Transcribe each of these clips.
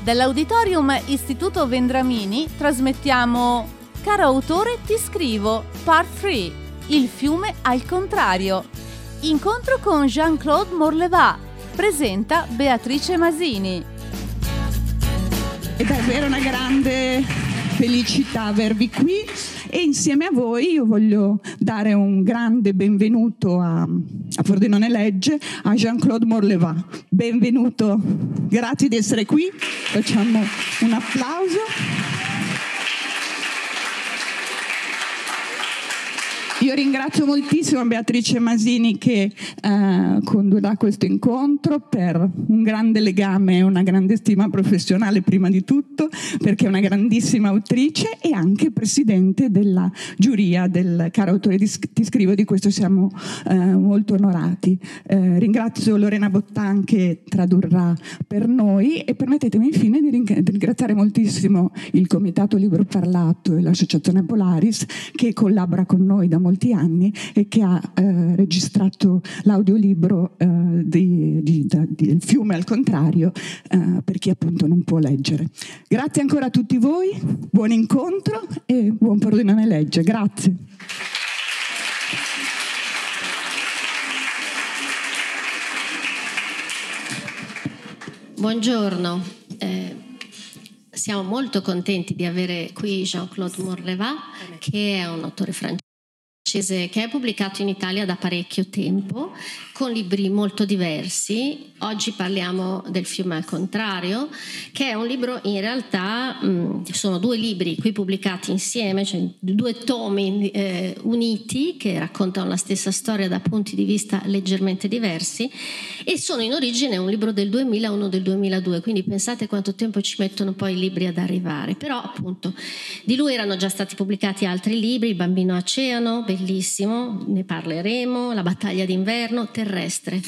Dall'Auditorium Istituto Vendramini trasmettiamo Caro autore, ti scrivo, Part 3, Il fiume al contrario. Incontro con Jean-Claude Morleva. Presenta Beatrice Masini. È davvero una grande felicità avervi qui e insieme a voi io voglio dare un grande benvenuto a Frosinone Legge, a Jean-Claude Morleva. Benvenuto, grazie di essere qui, facciamo un applauso. Io ringrazio moltissimo Beatrice Masini che condurrà questo incontro per un grande legame e una grande stima professionale prima di tutto, perché è una grandissima autrice e anche presidente della giuria del Caro autore ti scrivo, di questo siamo molto onorati. Ringrazio Lorena Bottan che tradurrà per noi e permettetemi infine di ringraziare moltissimo il Comitato Libro Parlato e l'Associazione Polaris che collabora con noi da molti anni e che ha registrato l'audiolibro del fiume al contrario per chi appunto non può leggere. Grazie ancora a tutti voi, buon incontro e buon Frosinone Legge. Grazie. Buongiorno. Siamo molto contenti di avere qui Jean-Claude Morleva, che è un autore francese che è pubblicato in Italia da parecchio tempo, con libri molto diversi. Oggi parliamo del fiume al contrario, che è un libro, in realtà sono due libri qui pubblicati insieme, cioè due tomi uniti che raccontano la stessa storia da punti di vista leggermente diversi, e sono in origine un libro del 2000 e uno del 2002, quindi pensate quanto tempo ci mettono poi i libri ad arrivare. Però appunto di lui erano già stati pubblicati altri libri, Il bambino oceano, bellissimo, ne parleremo, La battaglia d'inverno, Terrestre.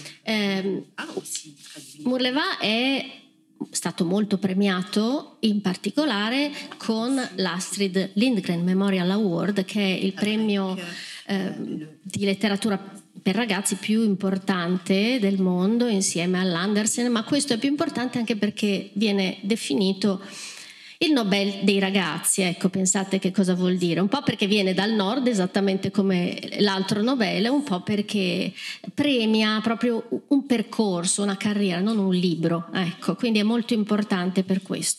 Morleva è stato molto premiato, in particolare con l'Astrid Lindgren Memorial Award, che è il premio di letteratura per ragazzi più importante del mondo, insieme all'Andersen, ma questo è più importante anche perché viene definito il Nobel dei ragazzi. Ecco, pensate che cosa vuol dire, un po' perché viene dal nord esattamente come l'altro Nobel, un po' perché premia proprio un percorso, una carriera, non un libro, ecco, quindi è molto importante per questo.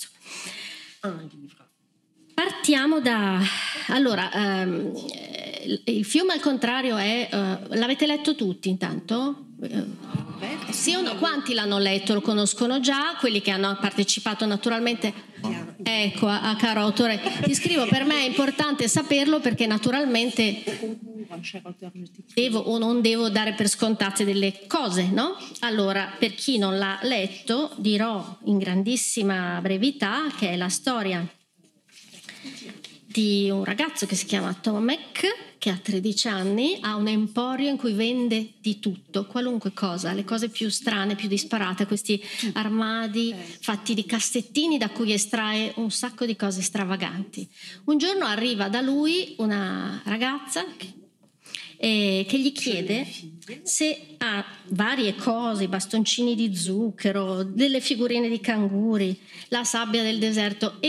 Partiamo da... Allora, il fiume al contrario è... l'avete letto tutti intanto? Sì o no? Quanti l'hanno letto? Lo conoscono già? Quelli che hanno partecipato naturalmente... Ecco, a Caro autore ti scrivo, per me è importante saperlo perché naturalmente devo o non devo dare per scontate delle cose, no? Allora, per chi non l'ha letto, dirò in grandissima brevità che è la storia di un ragazzo che si chiama Tomek, che ha 13 anni, ha un emporio in cui vende di tutto, qualunque cosa, le cose più strane, più disparate, questi armadi fatti di cassettini da cui estrae un sacco di cose stravaganti. Un giorno arriva da lui una ragazza che gli chiede se ha varie cose, bastoncini di zucchero, delle figurine di canguri, la sabbia del deserto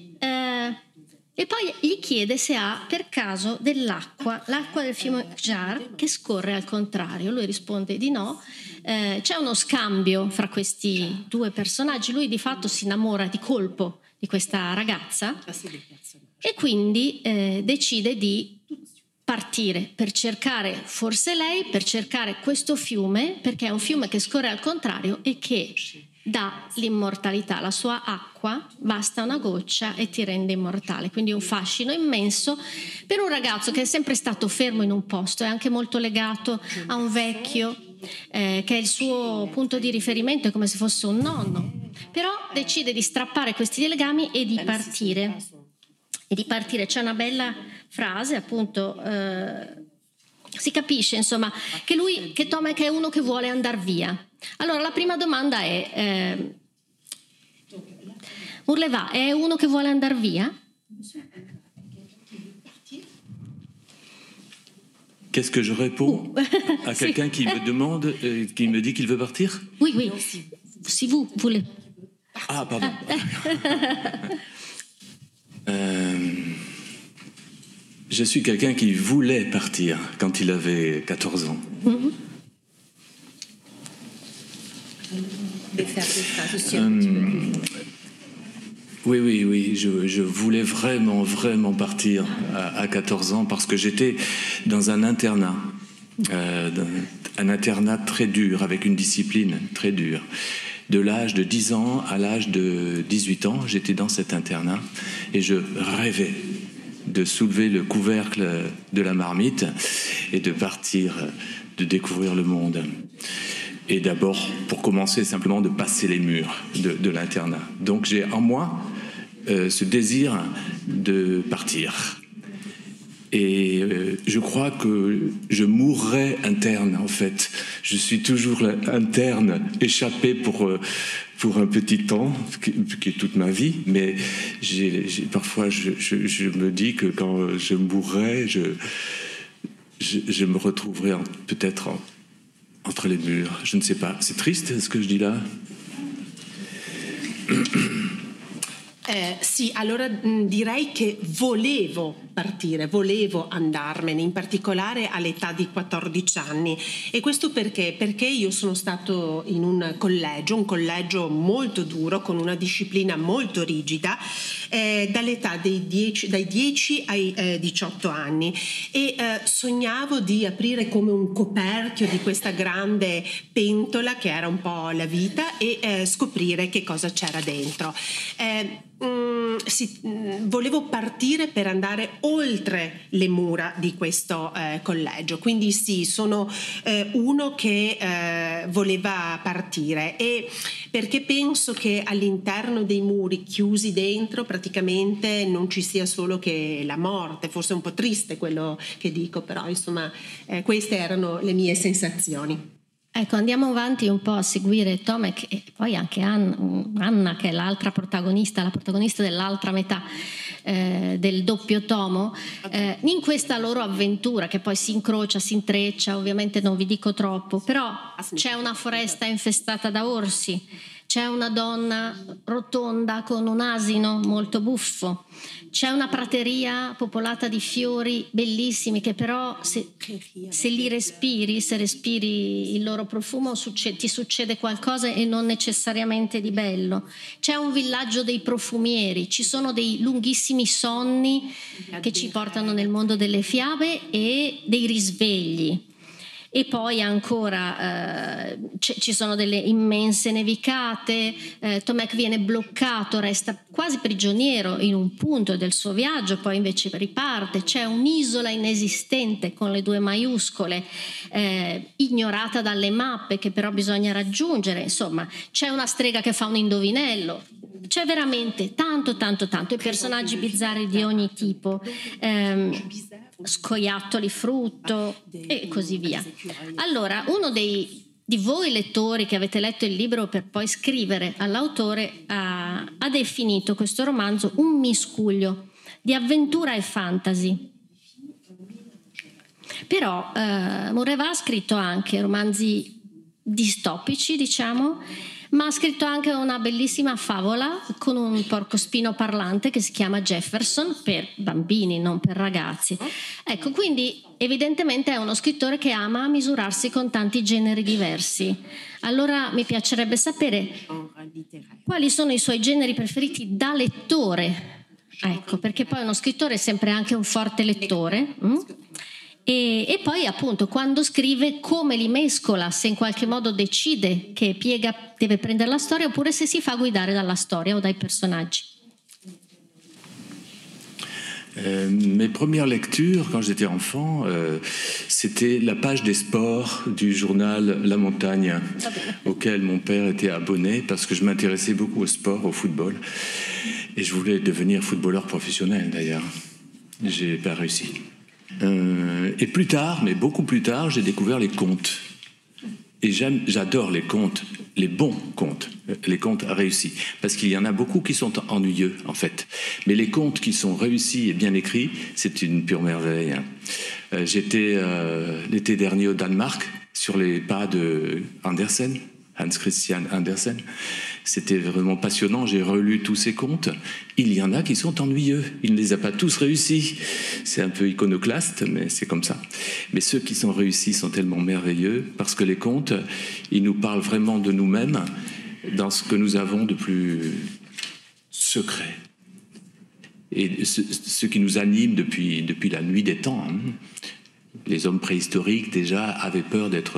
e poi gli chiede se ha per caso l'acqua del fiume Jar che scorre al contrario. Lui risponde di no. C'è uno scambio fra questi due personaggi. Lui di fatto si innamora di colpo di questa ragazza e quindi decide di partire per cercare forse lei, per cercare questo fiume, perché è un fiume che scorre al contrario e che dà l'immortalità. La sua acqua basta una goccia e ti rende immortale, quindi un fascino immenso per un ragazzo che è sempre stato fermo in un posto, è anche molto legato a un vecchio che è il suo punto di riferimento, è come se fosse un nonno, però decide di strappare questi legami e di partire. C'è una bella frase, appunto, si capisce insomma che Tomek è uno che vuole andare via. Allora la prima domanda è Morleva è uno che vuole andare via? Qu'est-ce que je réponds à quelqu'un qui me demande, qui me dit qu'il veut partir? Oui. Si vous voulez. Ah, pardon. Je suis quelqu'un qui voulait partir quand il avait 14 ans. Oui, je voulais vraiment partir à 14 ans parce que j'étais dans un internat très dur, avec une discipline très dure. De l'âge de 10 ans à l'âge de 18 ans, j'étais dans cet internat et je rêvais de soulever le couvercle de la marmite et de partir, de découvrir le monde. Et d'abord, pour commencer, simplement de passer les murs de l'internat. Donc j'ai en moi ce désir de partir. Et je crois que je mourrai interne, en fait. Je suis toujours interne, échappé pour un petit temps, qui est toute ma vie. Mais parfois, je me dis que quand je mourrai, je me retrouverai peut-être entre les murs. Je ne sais pas. C'est triste ce que je dis là. Sì, allora direi che volevo partire, volevo andarmene, in particolare all'età di 14 anni. E questo perché? Perché io sono stato in un collegio molto duro, con una disciplina molto rigida, dall'età dai 10 ai 18 anni e sognavo di aprire come un coperchio di questa grande pentola che era un po' la vita e scoprire che cosa c'era dentro. Volevo partire per andare oltre le mura di questo collegio, quindi sì, sono uno che voleva partire, e perché penso che all'interno dei muri, chiusi dentro, praticamente non ci sia solo che la morte. Forse è un po' triste quello che dico, però insomma queste erano le mie sensazioni. Ecco, andiamo avanti un po' a seguire Tomek e poi anche Anna, che è l'altra protagonista, la protagonista dell'altra metà del doppio tomo, in questa loro avventura che poi si incrocia, si intreccia. Ovviamente non vi dico troppo, però c'è una foresta infestata da orsi, c'è una donna rotonda con un asino molto buffo, c'è una prateria popolata di fiori bellissimi che però se li respiri, se respiri il loro profumo, ti succede qualcosa e non necessariamente di bello. C'è un villaggio dei profumieri, ci sono dei lunghissimi sonni che ci portano nel mondo delle fiabe e dei risvegli. E poi ancora ci sono delle immense nevicate, Tomek viene bloccato, resta quasi prigioniero in un punto del suo viaggio, poi invece riparte. C'è un'isola inesistente con le 2 maiuscole, ignorata dalle mappe, che però bisogna raggiungere. Insomma, c'è una strega che fa un indovinello. C'è veramente tanto, e personaggi bizzarri di ogni tipo, scoiattoli frutto e così via. Allora, uno di voi lettori che avete letto il libro per poi scrivere all'autore ha definito questo romanzo un miscuglio di avventura e fantasy. Però Murrevá ha scritto anche romanzi distopici, diciamo, ma ha scritto anche una bellissima favola con un porcospino parlante che si chiama Jefferson, per bambini, non per ragazzi. Ecco, quindi evidentemente è uno scrittore che ama misurarsi con tanti generi diversi. Allora mi piacerebbe sapere quali sono i suoi generi preferiti da lettore. Ecco, perché poi uno scrittore è sempre anche un forte lettore. E poi appunto quando scrive come li mescola, se in qualche modo decide che deve prendere la storia oppure se si fa guidare dalla storia o dai personaggi. Mes premières lectures, quand j'étais enfant, c'était la page des sports du journal La Montagne, auquel mon père était abonné parce que je m'intéressais beaucoup au sport, au football. Et je voulais devenir footballeur professionnel d'ailleurs. J'ai pas réussi. Et plus tard, mais beaucoup plus tard, j'ai découvert les contes. Et j'adore les contes, les bons contes, les contes réussis. Parce qu'il y en a beaucoup qui sont ennuyeux, en fait. Mais les contes qui sont réussis et bien écrits, c'est une pure merveille. J'étais l'été dernier au Danemark, sur les pas de Andersen, Hans Christian Andersen. C'était vraiment passionnant, j'ai relu tous ces contes. Il y en a qui sont ennuyeux, il ne les a pas tous réussis. C'est un peu iconoclaste, mais c'est comme ça. Mais ceux qui sont réussis sont tellement merveilleux, parce que les contes, ils nous parlent vraiment de nous-mêmes, dans ce que nous avons de plus secret. Et ce qui nous anime depuis la nuit des temps. Les hommes préhistoriques, déjà, avaient peur de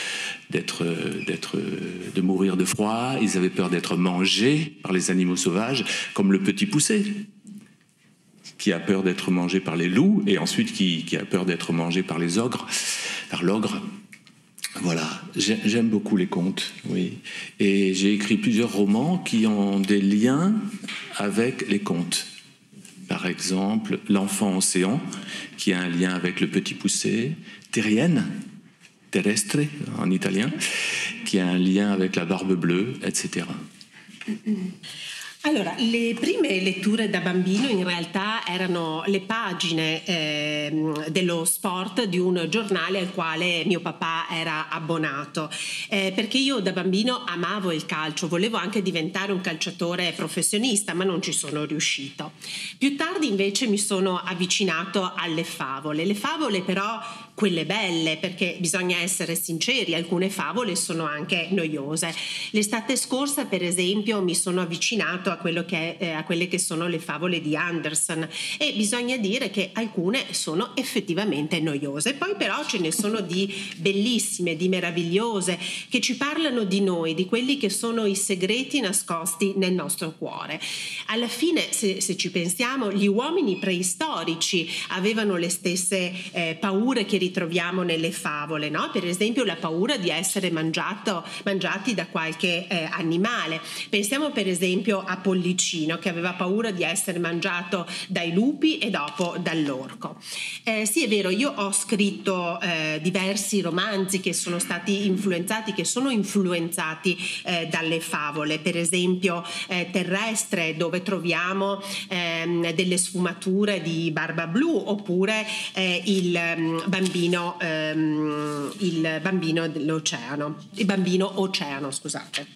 mourir de froid, ils avaient peur d'être mangés par les animaux sauvages, comme le petit poucet, qui a peur d'être mangé par les loups, et ensuite qui a peur d'être mangé par les ogres, par l'ogre. Voilà, j'aime beaucoup les contes, oui. Et j'ai écrit plusieurs romans qui ont des liens avec les contes. Par exemple, L'enfant océan, qui a un lien avec le petit poucet, Terrienne, terrestre en italien, qui a un lien avec la barbe bleue, etc. Allora, le prime letture da bambino in realtà erano le pagine dello sport di un giornale al quale mio papà era abbonato, perché io da bambino amavo il calcio, volevo anche diventare un calciatore professionista, ma non ci sono riuscito. Più tardi invece mi sono avvicinato alle favole. Le favole però quelle belle, perché bisogna essere sinceri, alcune favole sono anche noiose. L'estate scorsa, per esempio, mi sono avvicinato a quelle che sono le favole di Andersen, e bisogna dire che alcune sono effettivamente noiose. Poi però ce ne sono di bellissime, di meravigliose, che ci parlano di noi, di quelli che sono i segreti nascosti nel nostro cuore. Alla fine, se ci pensiamo, gli uomini preistorici avevano le stesse paure che ritroviamo nelle favole, no? Per esempio la paura di essere mangiati da qualche animale. Pensiamo per esempio a Pollicino, che aveva paura di essere mangiato dai lupi e dopo dall'orco. Sì, è vero, io ho scritto diversi romanzi che sono influenzati dalle favole, per esempio Terrestre, dove troviamo delle sfumature di Barba Blu, oppure il bambino dell'oceano, il bambino oceano, scusate.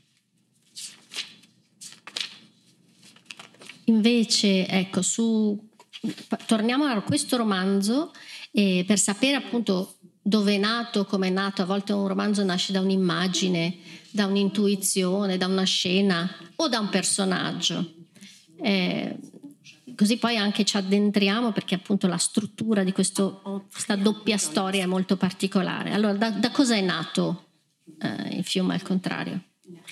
Invece, ecco, torniamo a questo romanzo per sapere appunto dove è nato, come è nato. A volte un romanzo nasce da un'immagine, da un'intuizione, da una scena o da un personaggio. Così poi anche ci addentriamo, perché appunto la struttura di questa doppia storia è molto particolare. Allora, da cosa è nato il fiume al contrario?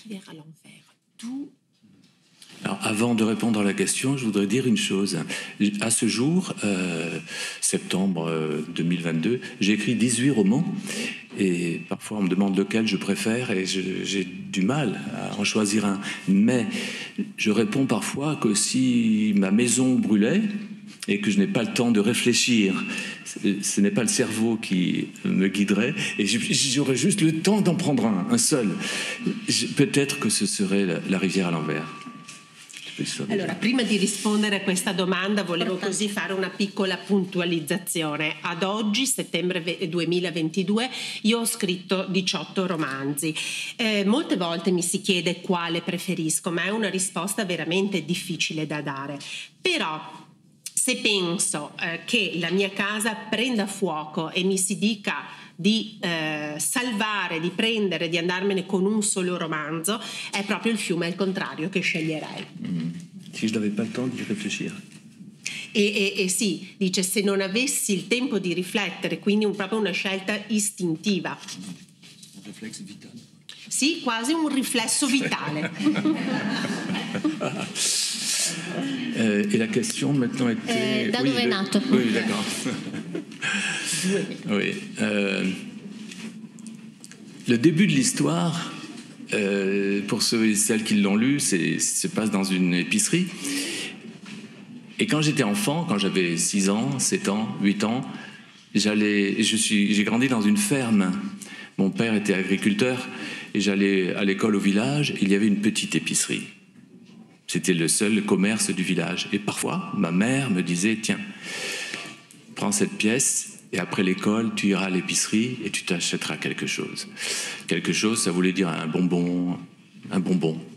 Alors, avant de répondre à la question, je voudrais dire une chose. À ce jour, septembre 2022, j'ai écrit 18 romans, et parfois on me demande lequel je préfère, et j'ai du mal à en choisir un. Mais je réponds parfois que si ma maison brûlait et que je n'ai pas le temps de réfléchir, ce n'est pas le cerveau qui me guiderait, et j'aurais juste le temps d'en prendre un seul. Peut-être que ce serait La rivière à l'envers. Allora, prima di rispondere a questa domanda volevo così fare una piccola puntualizzazione. Ad oggi, settembre 2022, io ho scritto 18 romanzi. Molte volte mi si chiede quale preferisco, ma è una risposta veramente difficile da dare. Però se penso che la mia casa prenda fuoco e mi si dica di salvare, di prendere, di andarmene con un solo romanzo, è proprio Il fiume al contrario che sceglierei. Si je n'avais pas le temps di réfléchir. E sì, dice, se non avessi il tempo di riflettere, quindi proprio una scelta istintiva. Un riflesso vitale. Sì, quasi un riflesso vitale. Et la question maintenant était... da dove è nato? Oui, d'accord. Oui. Le début de l'histoire, pour ceux et celles qui l'ont lu, se passe dans une épicerie. Et quand j'étais enfant, quand j'avais 6 ans, 7 ans, 8 ans, j'ai grandi dans une ferme. Mon père était agriculteur et j'allais à l'école au village. Il y avait une petite épicerie. C'était le seul commerce du village. Et parfois, ma mère me disait, tiens, prends cette pièce et après l'école, tu iras à l'épicerie et tu t'achèteras quelque chose. Quelque chose, ça voulait dire un bonbon, ouais.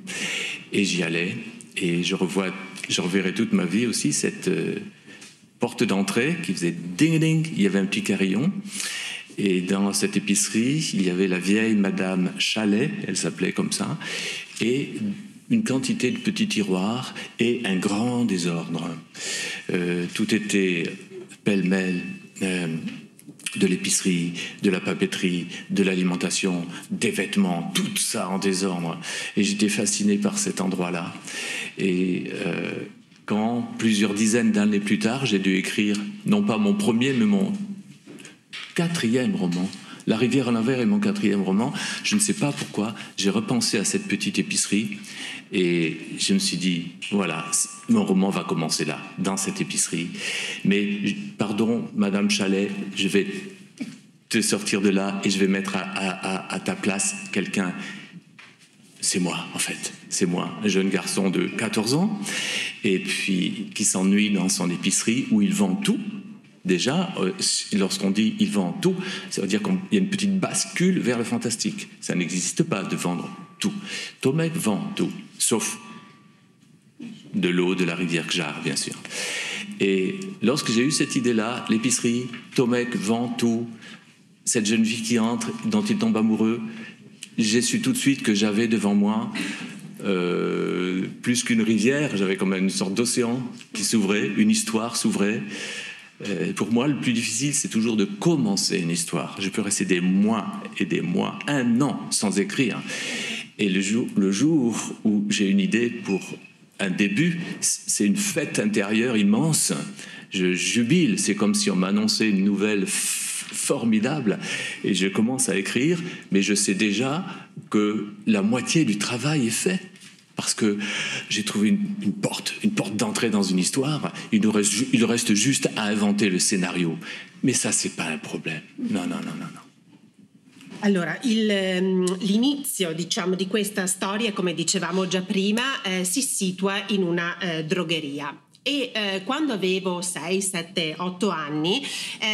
Et j'y allais, et je reverrai toute ma vie aussi cette porte d'entrée qui faisait ding-ding, il y avait un petit carillon. Et dans cette épicerie, il y avait la vieille Madame Chalet, elle s'appelait comme ça, et une quantité de petits tiroirs et un grand désordre. Tout était pêle-mêle, de l'épicerie, de la papeterie, de l'alimentation, des vêtements, tout ça en désordre. Et j'étais fasciné par cet endroit-là. Et quand, plusieurs dizaines d'années plus tard, j'ai dû écrire, non pas mon premier, mais mon 4e roman, La rivière à l'envers est mon 4e roman. Je ne sais pas pourquoi, j'ai repensé à cette petite épicerie et je me suis dit, voilà, mon roman va commencer là, dans cette épicerie. Mais, pardon, Madame Chalet, je vais te sortir de là et je vais mettre à ta place quelqu'un. C'est moi, en fait. C'est moi, un jeune garçon de 14 ans, et puis qui s'ennuie dans son épicerie où il vend tout. Déjà, lorsqu'on dit « il vend tout », ça veut dire qu'il y a une petite bascule vers le fantastique. Ça n'existe pas de vendre tout. Tomek vend tout, sauf de l'eau de la rivière Kjar, bien sûr. Et lorsque j'ai eu cette idée-là, l'épicerie, Tomek vend tout, cette jeune fille qui entre, dont il tombe amoureux, j'ai su tout de suite que j'avais devant moi plus qu'une rivière, j'avais comme une sorte d'océan qui s'ouvrait, une histoire s'ouvrait. Pour moi, le plus difficile, c'est toujours de commencer une histoire. Je peux rester des mois et des mois, 1 an sans écrire. Et le jour où j'ai une idée pour un début, c'est une fête intérieure immense. Je jubile, c'est comme si on m'annonçait une nouvelle formidable. Et je commence à écrire, mais je sais déjà que la moitié du travail est fait. Parce que j'ai trouvé une porte d'entrée dans une histoire. Il reste juste à inventer le scénario. Mais ça, c'est pas un problème. Non. Allora, l'inizio, diciamo, di questa storia, come dicevamo già prima, si situa in una drogheria. E quando avevo 6, 7, 8 anni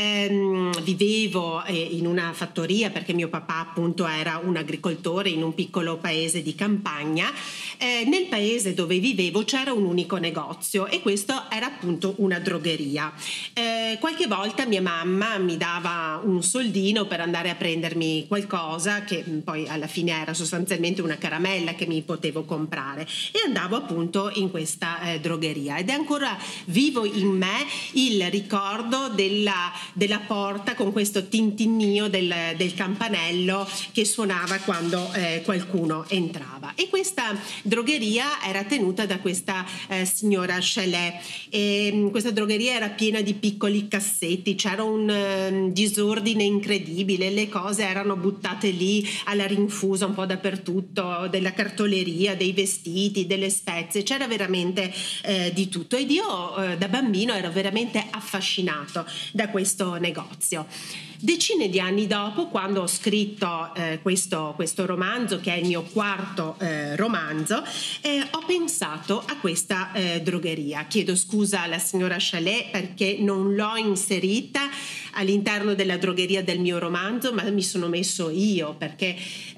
vivevo in una fattoria, perché mio papà appunto era un agricoltore in un piccolo paese di campagna. Nel paese dove vivevo c'era un unico negozio e questo era appunto una drogheria. Qualche volta mia mamma mi dava un soldino per andare a prendermi qualcosa, che poi alla fine era sostanzialmente una caramella che mi potevo comprare, e andavo appunto in questa drogheria. Ed è ancora vivo in me il ricordo della porta con questo tintinnio del campanello che suonava quando qualcuno entrava. E questa drogheria era tenuta da questa signora Chalet. E questa drogheria era piena di piccoli cassetti, c'era un disordine incredibile, le cose erano buttate lì alla rinfusa un po' dappertutto, della cartoleria, dei vestiti, delle spezie, c'era veramente di tutto. Ed io da bambino ero veramente affascinato da questo negozio. Decine di anni dopo, quando ho scritto questo romanzo, che è il mio 4º romanzo, ho pensato a questa drogheria. Chiedo scusa alla signora Chalet perché non l'ho inserita all'interno della drogheria del mio romanzo, ma mi sono messo io, perché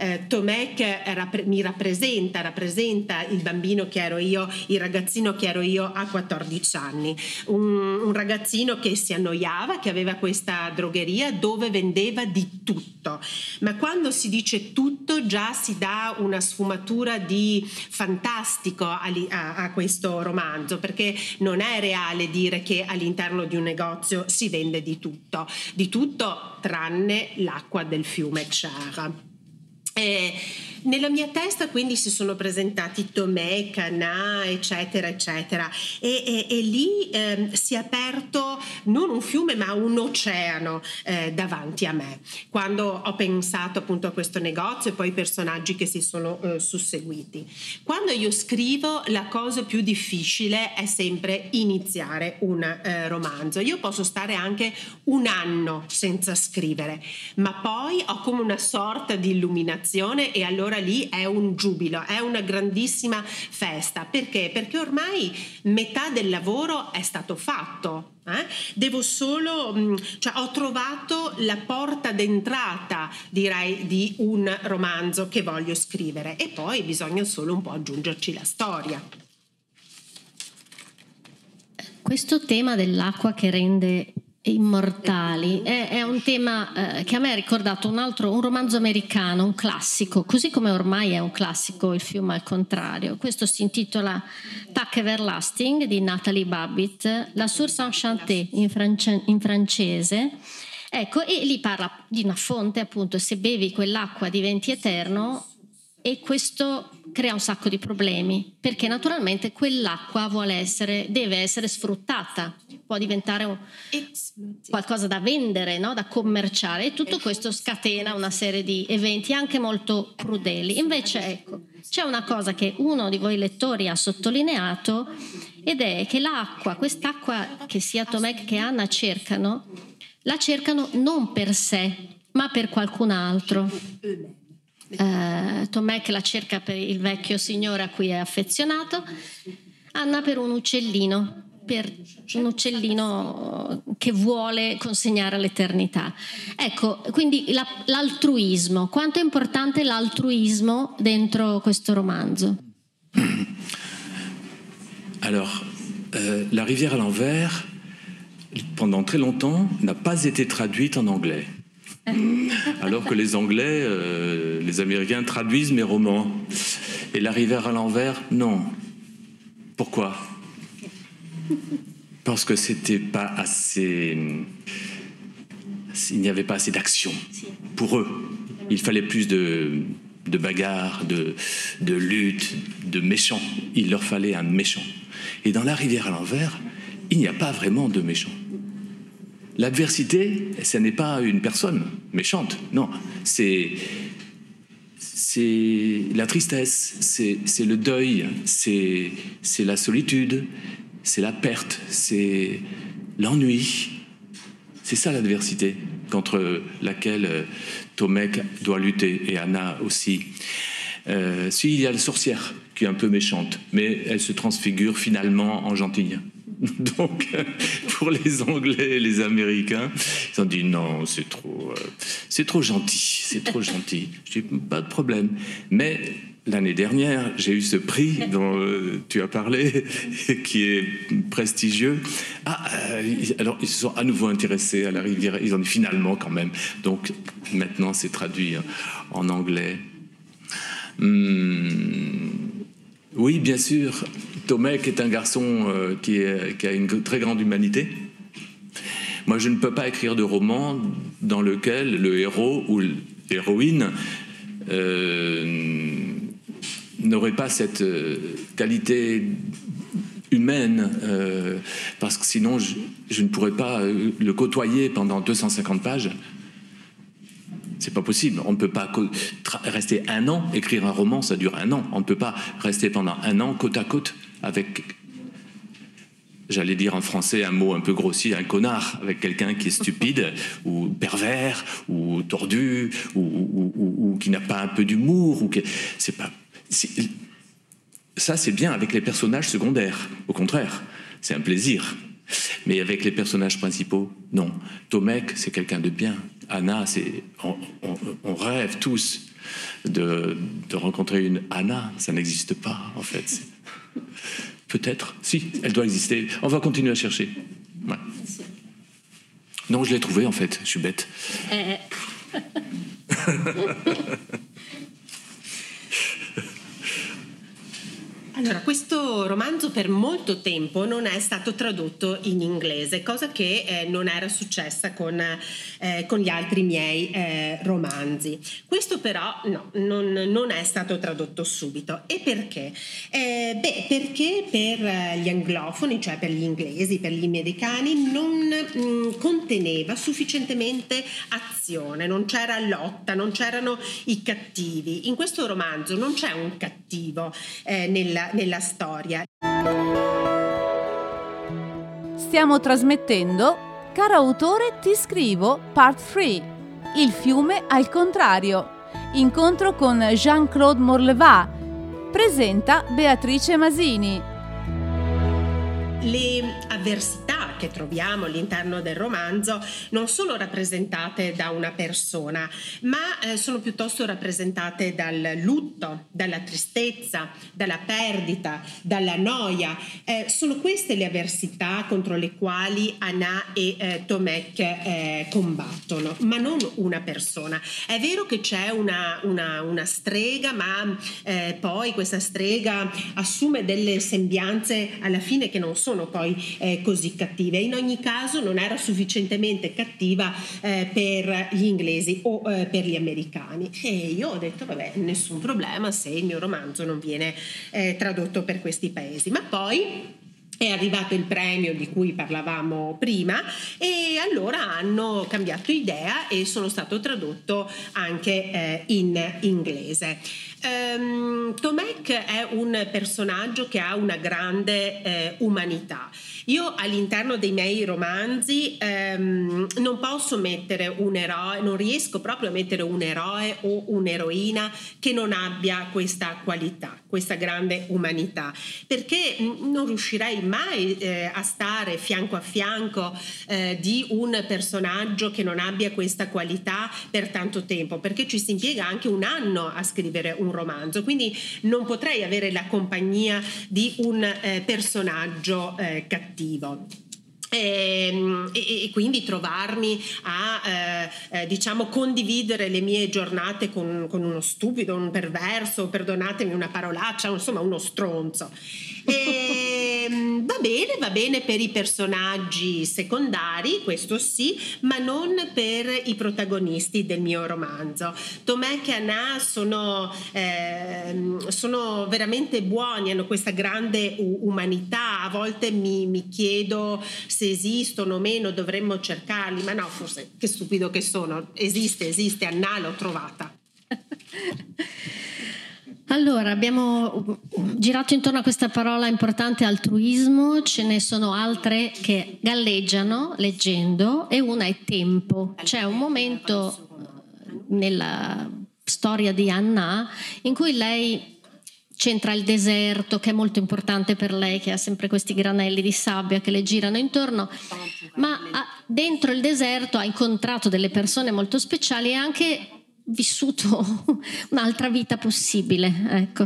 Tomek mi rappresenta il bambino che ero io, il ragazzino che ero io a 14 anni. Un ragazzino che si annoiava, che aveva questa drogheria dove vendeva di tutto, ma quando si dice tutto già si dà una sfumatura di fantastico a questo romanzo, perché non è reale dire che all'interno di un negozio si vende di tutto tranne l'acqua del fiume Kjar. Nella mia testa quindi si sono presentati Tomek, Anna, eccetera eccetera, e lì si è aperto non un fiume ma un oceano davanti a me, quando ho pensato appunto a questo negozio e poi i personaggi che si sono susseguiti. Quando io scrivo, la cosa più difficile è sempre iniziare un romanzo. Io posso stare anche 1 anno senza scrivere, ma poi ho come una sorta di illuminazione destinazione e allora lì è un giubilo, è una grandissima festa. Perché? Perché ormai metà del lavoro è stato fatto. Devo solo, cioè ho trovato la porta d'entrata, direi, di un romanzo che voglio scrivere, e poi bisogna solo un po' aggiungerci la storia. Questo tema dell'acqua che rende immortali è un tema che a me ha ricordato un romanzo americano, un classico, così come ormai è un classico Il fiume al contrario. Questo si intitola Tac Everlasting di Nathalie Babbitt, La Source Enchantée in francese. Ecco, e lì parla di una fonte, appunto, se bevi quell'acqua diventi eterno, e questo crea un sacco di problemi, perché naturalmente quell'acqua deve essere sfruttata, può diventare qualcosa da vendere, no? Da commerciare, e tutto questo scatena una serie di eventi anche molto crudeli. Invece, ecco, c'è una cosa che uno di voi lettori ha sottolineato, ed è che quest'acqua che sia Tomek che Anna la cercano non per sé, ma per qualcun altro. Tomek la cerca per il vecchio signore a cui è affezionato, Anna per un uccellino che vuole consegnare all'eternità. Ecco, quindi l'altruismo, quanto è importante l'altruismo dentro questo romanzo? Alors, La rivière à l'envers, pendant très longtemps, n'a pas été traduite en anglais. Alors que les Anglais, les Américains traduisent mes romans. Et La rivière à l'envers, non. Pourquoi? Parce que c'était pas assez... Il n'y avait pas assez d'action pour eux. Il fallait plus de bagarres, de luttes, de méchants. Il leur fallait un méchant. Et dans La rivière à l'envers, il n'y a pas vraiment de méchants. L'adversité, ce n'est pas une personne méchante, non, c'est la tristesse, c'est le deuil, c'est la solitude, c'est la perte, c'est l'ennui. C'est ça l'adversité contre laquelle Tomek doit lutter, et Anna aussi. Il y a la sorcière qui est un peu méchante, mais elle se transfigure finalement en gentille. Donc, pour les Anglais et les Américains, ils ont dit non, c'est trop gentil, c'est trop gentil. Je dis pas de problème. Mais l'année dernière, j'ai eu ce prix dont tu as parlé, qui est prestigieux. Alors ils se sont à nouveau intéressés à la rivière. Ils ont dit finalement quand même. Donc maintenant, c'est traduit en anglais. Oui, bien sûr. Tomek est un garçon qui a une très grande humanité. Moi, je ne peux pas écrire de roman dans lequel le héros ou l'héroïne n'aurait pas cette qualité humaine, parce que sinon, je ne pourrais pas le côtoyer pendant 250 pages. C'est pas possible. On ne peut pas rester un an, écrire un roman, ça dure un an. On ne peut pas rester pendant un an côte à côte avec, j'allais dire en français un mot un peu grossier, un connard, avec quelqu'un qui est stupide ou pervers ou tordu ou qui n'a pas un peu d'humour. Ça, c'est bien avec les personnages secondaires. Au contraire, c'est un plaisir. Mais avec les personnages principaux, non. Tomek, c'est quelqu'un de bien. Anna, on rêve tous de rencontrer une Anna. Ça n'existe pas, en fait. Peut-être, si, elle doit exister. On va continuer à chercher. Ouais. Non, je l'ai trouvée, en fait. Je suis bête. Allora, questo romanzo per molto tempo non è stato tradotto in inglese, cosa che non era successa con gli altri miei romanzi. Questo però no, non è stato tradotto subito. E perché? Perché per gli anglofoni, cioè per gli inglesi, per gli americani, non conteneva sufficientemente azione, non c'era lotta, non c'erano i cattivi. In questo romanzo non c'è un cattivo nella storia. Stiamo trasmettendo Caro autore, ti scrivo Part 3, Il fiume al contrario, Incontro con Jean-Claude Morleva. Presenta Beatrice Masini. Le avversità che troviamo all'interno del romanzo non sono rappresentate da una persona, ma sono piuttosto rappresentate dal lutto, dalla tristezza, dalla perdita, dalla noia. Sono queste le avversità contro le quali Anna e Tomek combattono, ma non una persona. È vero che c'è una strega, ma poi questa strega assume delle sembianze alla fine che non sono poi così cattive. In ogni caso non era sufficientemente cattiva per gli inglesi o per gli americani, e io ho detto vabbè, nessun problema se il mio romanzo non viene tradotto per questi paesi. Ma poi è arrivato il premio di cui parlavamo prima e allora hanno cambiato idea e sono stato tradotto anche in inglese. Tomek è un personaggio che ha una grande umanità. Io all'interno dei miei romanzi non posso mettere un eroe, non riesco proprio a mettere un eroe o un'eroina che non abbia questa qualità, questa grande umanità, perché non riuscirei mai a stare fianco a fianco di un personaggio che non abbia questa qualità per tanto tempo, perché ci si impiega anche un anno a scrivere un romanzo, quindi non potrei avere la compagnia di un personaggio cattivo. E quindi trovarmi a diciamo condividere le mie giornate con uno stupido, un perverso, perdonatemi una parolaccia, insomma uno stronzo. Va bene per i personaggi secondari, questo sì, ma non per i protagonisti del mio romanzo. Tomek e Anna sono veramente buoni, hanno questa grande umanità. A volte mi chiedo se esistono o meno, dovremmo cercarli, ma no, forse che stupido che sono. Esiste, Anna l'ho trovata. Allora, abbiamo girato intorno a questa parola importante, altruismo. Ce ne sono altre che galleggiano leggendo, e una è tempo. C'è un momento nella storia di Anna in cui lei c'entra il deserto, che è molto importante per lei, che ha sempre questi granelli di sabbia che le girano intorno, ma dentro il deserto ha incontrato delle persone molto speciali e anche vissuto un'altra vita possibile, ecco.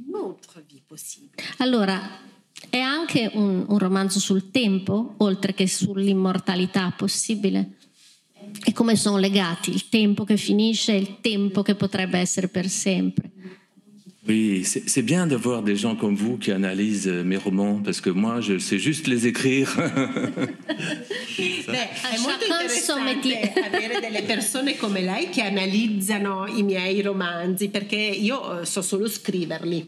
Allora, è anche un romanzo sul tempo, oltre che sull'immortalità possibile. E come sono legati il tempo che finisce e il tempo che potrebbe essere per sempre. Oui, c'est bien d'avoir des gens comme vous qui analysent mes romans, parce que moi, je sais juste les écrire. È molto interessante avere delle persone come lei che analizzano i miei romanzi, perché io so solo scriverli.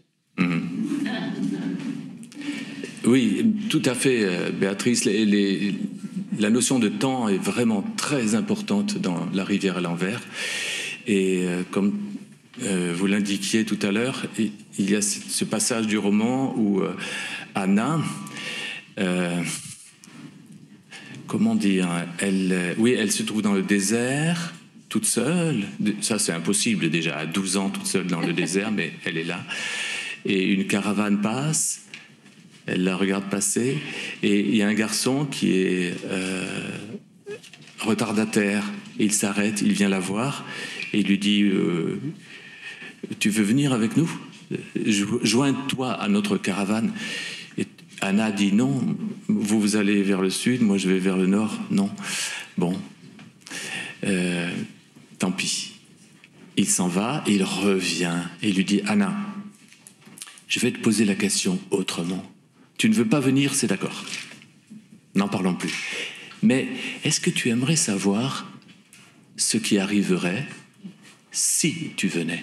Oui, tout à fait, Béatrice. La notion de temps est vraiment très importante dans La rivière à l'envers. Et comme vous l'indiquiez tout à l'heure, il y a ce passage du roman où Anna, comment dire, elle se trouve dans le désert, toute seule. Ça, c'est impossible déjà, à 12 ans, toute seule dans le désert, mais elle est là. Et une caravane passe, elle la regarde passer, et il y a un garçon qui est retardataire. Et il s'arrête, il vient la voir, et il lui dit... tu veux venir avec nous? Joins-toi à notre caravane. Et Anna dit non, vous allez vers le sud, moi je vais vers le nord. Non. Bon, tant pis. Il s'en va et il revient et il lui dit Anna, je vais te poser la question autrement. Tu ne veux pas venir, c'est d'accord. N'en parlons plus. Mais est-ce que tu aimerais savoir ce qui arriverait si tu venais?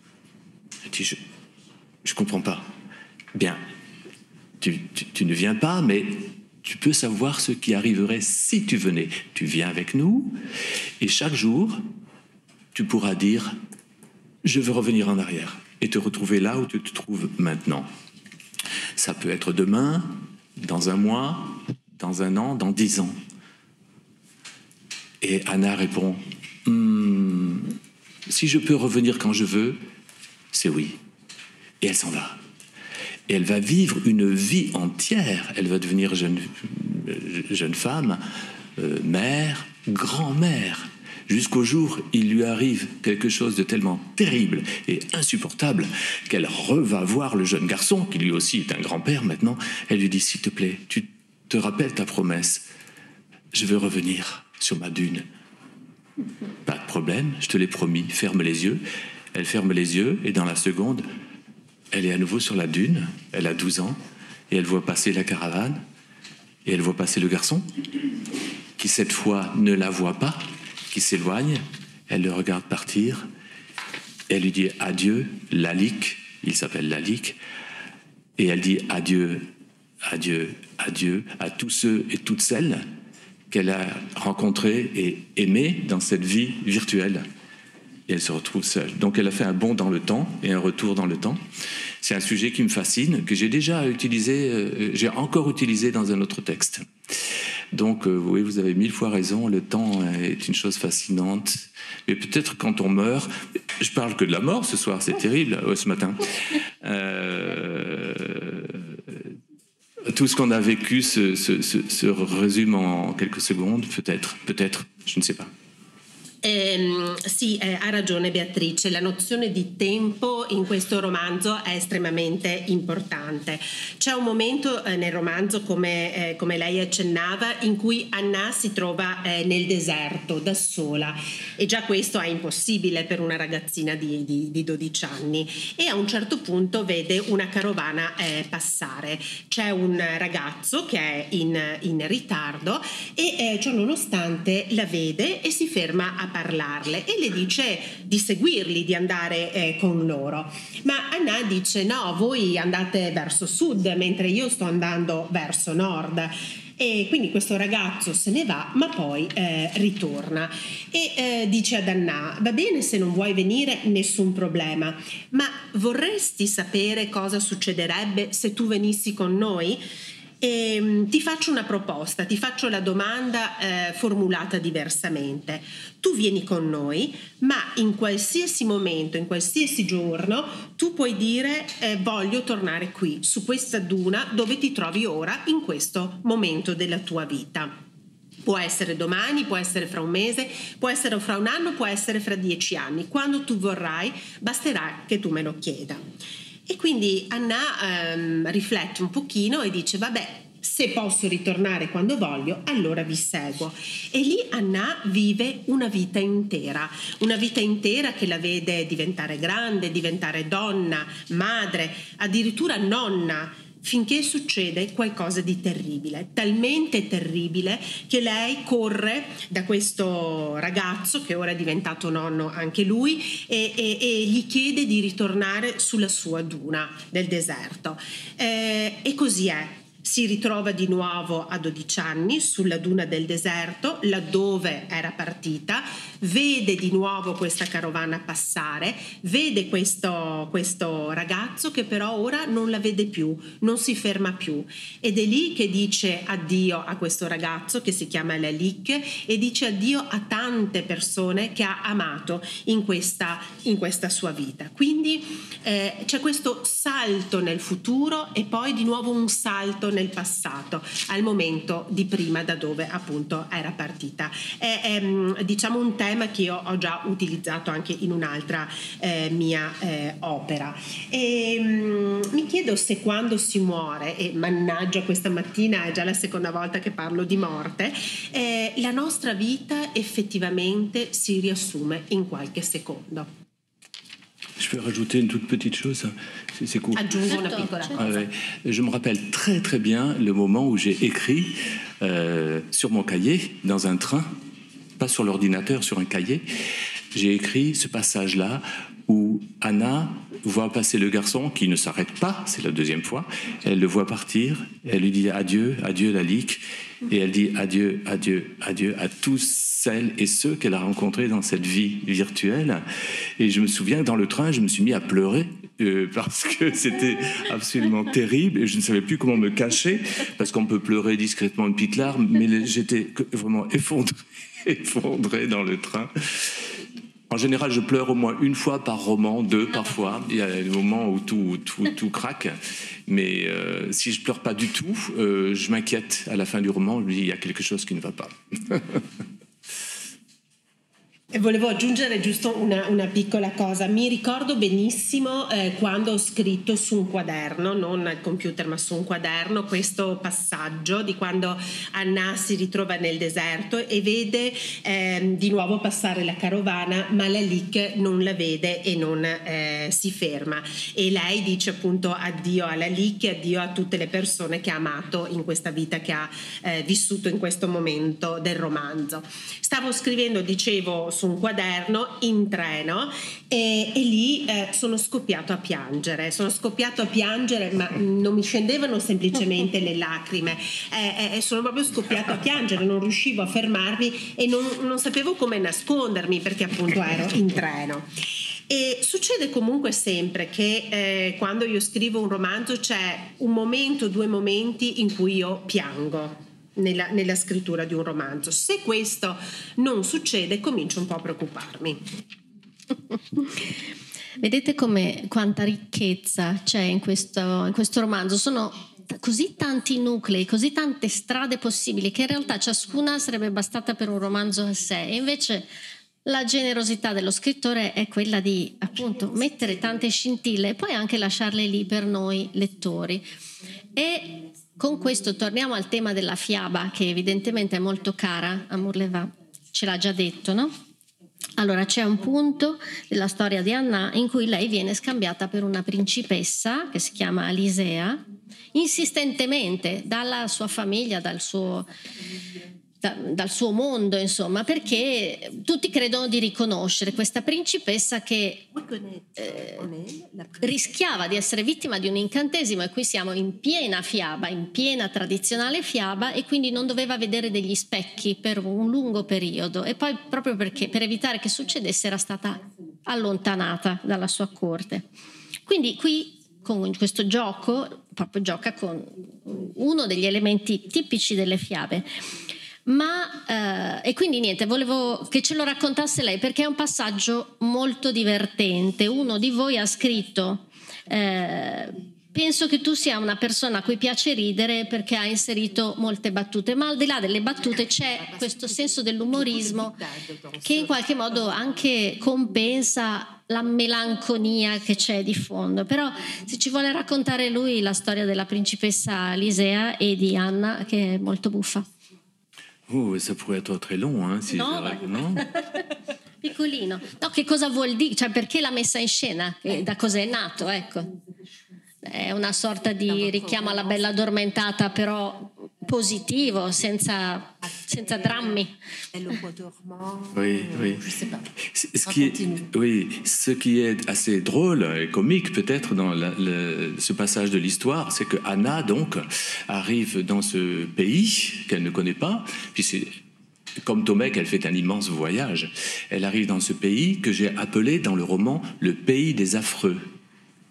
Je comprends pas. Bien, tu ne viens pas, mais tu peux savoir ce qui arriverait si tu venais. Tu viens avec nous, et chaque jour, tu pourras dire « Je veux revenir en arrière » et te retrouver là où tu te trouves maintenant. Ça peut être demain, dans un mois, dans un an, dans 10 ans. Et Anna répond Si je peux revenir quand je veux, c'est oui. Et elle s'en va. Et elle va vivre une vie entière. Elle va devenir jeune femme, mère, grand-mère. Jusqu'au jour, il lui arrive quelque chose de tellement terrible et insupportable qu'elle va voir le jeune garçon, qui lui aussi est un grand-père maintenant. Elle lui dit, s'il te plaît, tu te rappelles ta promesse. Je veux revenir sur ma dune. Pas de problème, je te l'ai promis, ferme les yeux. Elle ferme les yeux et dans la seconde, elle est à nouveau sur la dune. Elle a 12 ans et elle voit passer la caravane et elle voit passer le garçon qui cette fois ne la voit pas, qui s'éloigne, elle le regarde partir, elle lui dit adieu, Lalique, il s'appelle Lalique, et elle dit adieu, adieu, adieu à tous ceux et toutes celles qu'elle a rencontrés et aimés dans cette vie virtuelle. Et elle se retrouve seule. Donc elle a fait un bond dans le temps et un retour dans le temps. C'est un sujet qui me fascine, que j'ai déjà utilisé, j'ai encore utilisé dans un autre texte. Donc, oui, vous avez 1000 fois raison, le temps est une chose fascinante. Mais peut-être quand on meurt, je parle que de la mort ce soir, c'est terrible, ce matin. Tout ce qu'on a vécu se résume en quelques secondes, peut-être, je ne sais pas. Sì, ha ragione Beatrice, la nozione di tempo in questo romanzo è estremamente importante. C'è un momento nel romanzo, come lei accennava, in cui Anna si trova nel deserto da sola, e già questo è impossibile per una ragazzina di 12 anni, e a un certo punto vede una carovana passare. C'è un ragazzo che è in ritardo e ciò nonostante la vede e si ferma a parlarle e le dice di seguirli, di andare con loro, ma Anna dice no, voi andate verso sud mentre io sto andando verso nord. E quindi questo ragazzo se ne va, ma poi ritorna e dice ad Anna: va bene se non vuoi venire, nessun problema, ma vorresti sapere cosa succederebbe se tu venissi con noi? E ti faccio una proposta, ti faccio la domanda formulata diversamente. Tu vieni con noi, ma in qualsiasi momento, in qualsiasi giorno, tu puoi dire voglio tornare qui, su questa duna dove ti trovi ora, in questo momento della tua vita. Può essere domani, può essere fra un mese, può essere fra un anno, può essere fra 10 anni. Quando tu vorrai, basterà che tu me lo chieda. E quindi Anna riflette un pochino e dice vabbè, se posso ritornare quando voglio, allora vi seguo. E lì Anna vive una vita intera che la vede diventare grande, diventare donna, madre, addirittura nonna, finché succede qualcosa di terribile, talmente terribile che lei corre da questo ragazzo, che ora è diventato nonno anche lui, e gli chiede di ritornare sulla sua duna del deserto. E così è. Si ritrova di nuovo a 12 anni sulla duna del deserto, laddove era partita, vede di nuovo questa carovana passare, vede questo ragazzo che però ora non la vede più, non si ferma più, ed è lì che dice addio a questo ragazzo che si chiama Lalique e dice addio a tante persone che ha amato in questa sua vita. Quindi c'è questo salto nel futuro e poi di nuovo un salto nel passato, al momento di prima, da dove appunto era partita. È diciamo un tema che io ho già utilizzato anche in un'altra mia opera. E mi chiedo se quando si muore, e mannaggia questa mattina è già la seconda volta che parlo di morte, la nostra vita effettivamente si riassume in qualche secondo. Je peux rajouter une toute petite chose, c'est court. Aggiungo una piccola cosa. Ouais. Je me rappelle très très bien le moment où j'ai écrit sur mon cahier, dans un train, pas sur l'ordinateur, sur un cahier, j'ai écrit ce passage-là où Anna voit passer le garçon qui ne s'arrête pas, c'est la deuxième fois, elle le voit partir, elle lui dit adieu, adieu Lalique, et elle dit adieu, adieu, adieu à tous celles et ceux qu'elle a rencontrés dans cette vie virtuelle. Et je me souviens, dans le train, je me suis mis à pleurer parce que c'était absolument terrible et je ne savais plus comment me cacher, parce qu'on peut pleurer discrètement une petite larme, mais j'étais vraiment effondré dans le train. En général, je pleure au moins une fois par roman, 2 parfois. Il y a des moments où tout craque. Mais si je pleure pas du tout, je m'inquiète à la fin du roman. Je me dis, il y a quelque chose qui ne va pas. E volevo aggiungere giusto una piccola cosa. Mi ricordo benissimo quando ho scritto su un quaderno, non al computer ma su un quaderno, questo passaggio di quando Anna si ritrova nel deserto e vede di nuovo passare la carovana, ma Lalik non la vede e non si ferma, e lei dice appunto addio a Lalik e addio a tutte le persone che ha amato in questa vita che ha vissuto in questo momento del romanzo. Stavo scrivendo, dicevo, su un quaderno in treno e lì sono scoppiato a piangere, ma non mi scendevano semplicemente le lacrime, sono proprio scoppiato a piangere, non riuscivo a fermarmi e non sapevo come nascondermi perché appunto ero in treno. E succede comunque sempre che quando io scrivo un romanzo c'è un momento, 2 momenti in cui io piango nella scrittura di un romanzo. Se questo non succede, comincio un po' a preoccuparmi. Vedete quanta ricchezza c'è in questo romanzo. Sono così tanti nuclei, così tante strade possibili che in realtà ciascuna sarebbe bastata per un romanzo a sé, e invece la generosità dello scrittore è quella di appunto mettere tante scintille e poi anche lasciarle lì per noi lettori. E con questo torniamo al tema della fiaba, che evidentemente è molto cara a Murleva, ce l'ha già detto, no? Allora, c'è un punto della storia di Anna in cui lei viene scambiata per una principessa che si chiama Alisea, insistentemente dalla sua famiglia, dal suo mondo, insomma, perché tutti credono di riconoscere questa principessa che rischiava di essere vittima di un incantesimo, e qui siamo in piena fiaba, in piena tradizionale fiaba, e quindi non doveva vedere degli specchi per un lungo periodo, e poi proprio perché per evitare che succedesse era stata allontanata dalla sua corte. Quindi qui con questo gioco proprio gioca con uno degli elementi tipici delle fiabe. E quindi niente, volevo che ce lo raccontasse lei, perché è un passaggio molto divertente. Uno di voi ha scritto penso che tu sia una persona a cui piace ridere perché ha inserito molte battute, ma al di là delle battute c'è questo senso dell'umorismo che in qualche modo anche compensa la melanconia che c'è di fondo. Però se ci vuole raccontare lui la storia della principessa Alisea e di Anna, che è molto buffa. Ça pourrait être très long, hein, si no? No? Piccolino. No, che cosa vuol dire? Cioè, perché l'ha messa in scena? Da cosa è nato, ecco. È una sorta di richiamo alla Bella Addormentata, però positivo, senza drammi. Oui. Ce qui est assez drôle et comique peut-être dans ce passage de l'histoire, c'est que Anna donc arrive dans ce pays qu'elle ne connaît pas, puis c'est comme Tomek, elle fait un immense voyage. Elle arrive dans ce pays que j'ai appelé dans le roman le pays des affreux. Pourquoi ?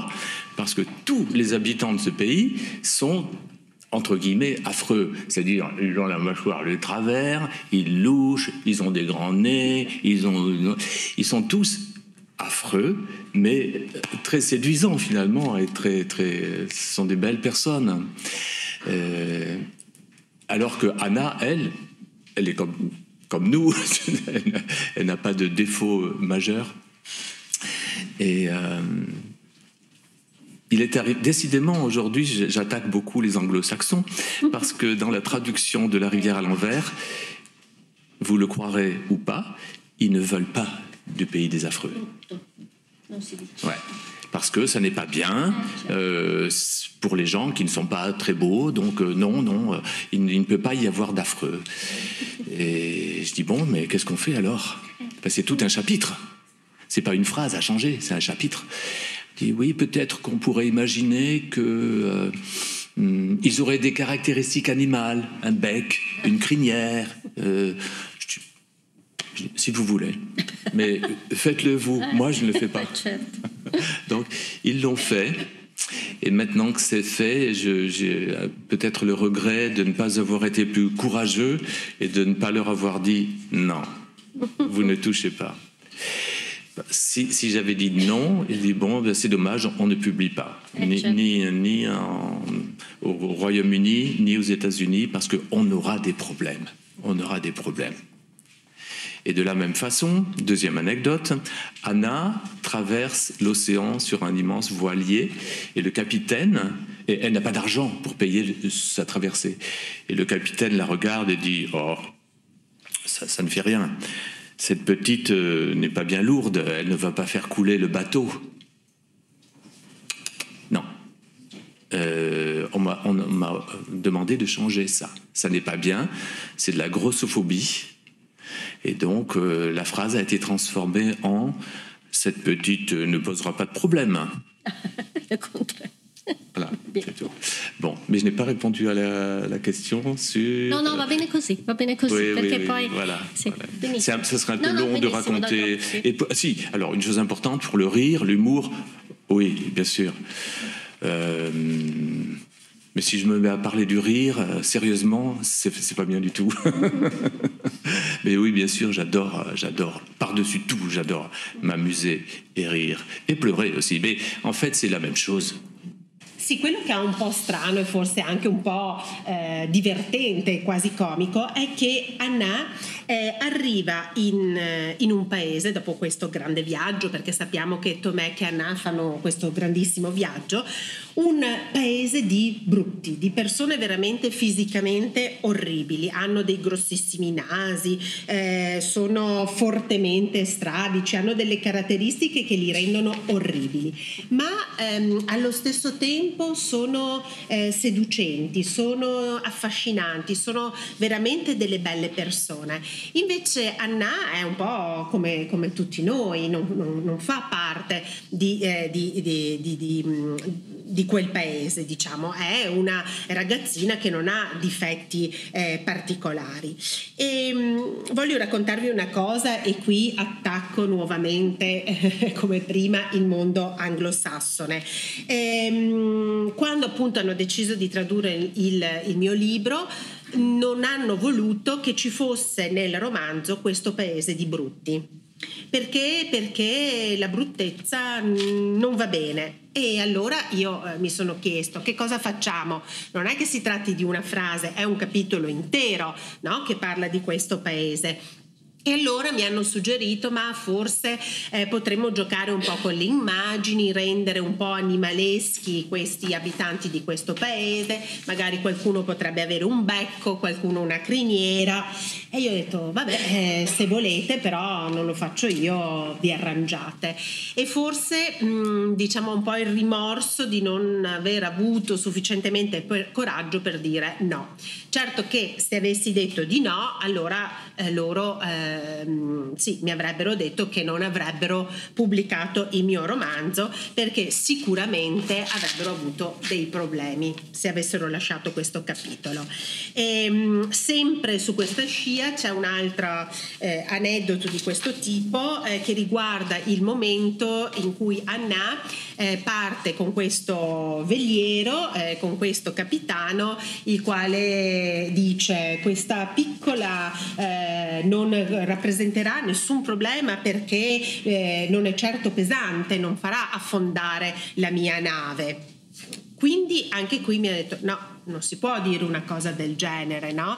Parce que tous les habitants de ce pays sont, entre guillemets, affreux. C'est-à-dire, ils ont la mâchoire de travers, ils louchent, ils ont des grands nez, ils sont tous affreux, mais très séduisants finalement, et ce sont des belles personnes. Alors que Anna, elle est comme nous, elle n'a pas de défaut majeur. Et il est décidément, aujourd'hui, j'attaque beaucoup les anglo-saxons, parce que dans la traduction de La rivière à l'envers, vous le croirez ou pas, ils ne veulent pas du pays des affreux. Ouais. Parce que ça n'est pas bien pour les gens qui ne sont pas très beaux, donc il ne peut pas y avoir d'affreux. Et je dis, bon, mais qu'est-ce qu'on fait alors ? C'est tout un chapitre. C'est pas une phrase à changer, c'est un chapitre. Je dis, oui, peut-être qu'on pourrait imaginer que ils auraient des caractéristiques animales, un bec, une crinière, si vous voulez. Mais faites-le vous, moi je ne le fais pas. Donc, ils l'ont fait. Et maintenant que c'est fait, j'ai peut-être le regret de ne pas avoir été plus courageux et de ne pas leur avoir dit non, vous ne touchez pas. Si j'avais dit non, il dit bon, ben c'est dommage, on ne publie pas, ni au Royaume-Uni, ni aux États-Unis, parce qu'on aura des problèmes. On aura des problèmes. Et de la même façon, deuxième anecdote, Anna traverse l'océan sur un immense voilier, et le capitaine, et elle n'a pas d'argent pour payer sa traversée. Et le capitaine la regarde et dit « Oh, ça ne fait rien. Cette petite n'est pas bien lourde, elle ne va pas faire couler le bateau. » Non. On m'a demandé de changer ça. Ça n'est pas bien, c'est de la grossophobie. Et donc, la phrase a été transformée en « Cette petite ne posera pas de problème. » Le contraire. Voilà, c'est tout. Bon, mais je n'ai pas répondu à la question sur... No, va bene così, oui, perché oui, poi... voilà, Sì, voilà. Ça serait un peu long de raconter... Et, si, alors, une chose importante, pour le rire, l'humour, oui, bien sûr. Mais si je me mets à parler du rire, sérieusement, c'est pas bien du tout. Mais oui, bien sûr, j'adore, par-dessus tout, j'adore m'amuser et rire. Et pleurer aussi. Mais en fait, c'est la même chose. Sì, quello che è un po' strano e forse anche un po' divertente, quasi comico, è che Anna arriva in un paese dopo questo grande viaggio, perché sappiamo che Tomek e Anna fanno questo grandissimo viaggio, un paese di brutti, di persone veramente fisicamente orribili, hanno dei grossissimi nasi, sono fortemente stradici, hanno delle caratteristiche che li rendono orribili, ma allo stesso tempo sono seducenti, sono affascinanti, sono veramente delle belle persone. Invece Anna è un po' come tutti noi, non fa parte di quel paese, diciamo, è una ragazzina che non ha difetti particolari. E voglio raccontarvi una cosa, e qui attacco nuovamente come prima il mondo anglosassone. Quando appunto hanno deciso di tradurre il mio libro, non hanno voluto che ci fosse nel romanzo questo paese di brutti. Perché la bruttezza non va bene. E allora io mi sono chiesto che cosa facciamo. Non è che si tratti di una frase, è un capitolo intero, no? Che parla di questo paese. E allora mi hanno suggerito, ma forse potremmo giocare un po' con le immagini, rendere un po' animaleschi questi abitanti di questo paese, magari qualcuno potrebbe avere un becco, qualcuno una criniera. E io ho detto, vabbè, se volete, però non lo faccio io, vi arrangiate. E forse diciamo un po' il rimorso di non aver avuto sufficientemente coraggio per dire no. Certo che se avessi detto di no, allora loro sì, mi avrebbero detto che non avrebbero pubblicato il mio romanzo, perché sicuramente avrebbero avuto dei problemi se avessero lasciato questo capitolo. E sempre su questa scia c'è un altro aneddoto di questo tipo che riguarda il momento in cui Anna parte con questo veliero, con questo capitano, il quale dice: questa piccola non rappresenterà nessun problema perché non è certo pesante, non farà affondare la mia nave. Quindi anche qui mi ha detto no, non si può dire una cosa del genere, no?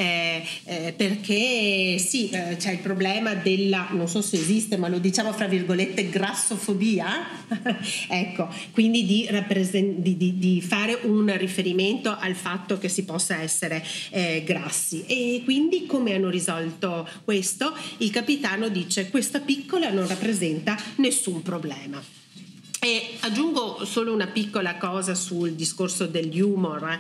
Perché sì, c'è il problema della, non so se esiste, ma lo diciamo fra virgolette, grassofobia. Ecco, quindi di fare un riferimento al fatto che si possa essere grassi. E quindi come hanno risolto questo? Il capitano dice: questa piccola non rappresenta nessun problema. E aggiungo solo una piccola cosa sul discorso degli humor.